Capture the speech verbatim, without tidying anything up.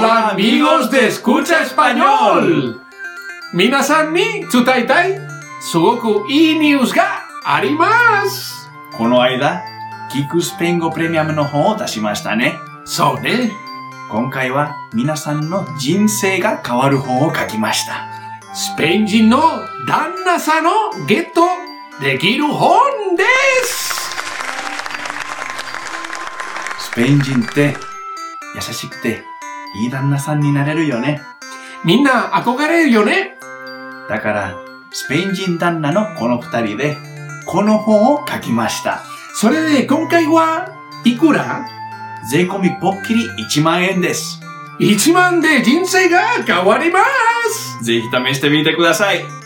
Hola amigos de Escucha Español! 皆さんに伝えたいすごくいいニュースがあります。 この間、聞くスペイン語プレミアムの本を出しましたね。 そうね。 今回は皆さんの人生が変わる本を書きました。 スペイン人の旦那さんをゲットできる本です。 スペイン人って優しくていい旦那さんになれるよね。 みんな憧れるよね。 だからスペイン人旦那のこの二人でこの本を書きました。 それで今回はいくら？ 税込みぽっきりいちまんえんです。 いちまんで人生が変わります。 ぜひ試してみてください。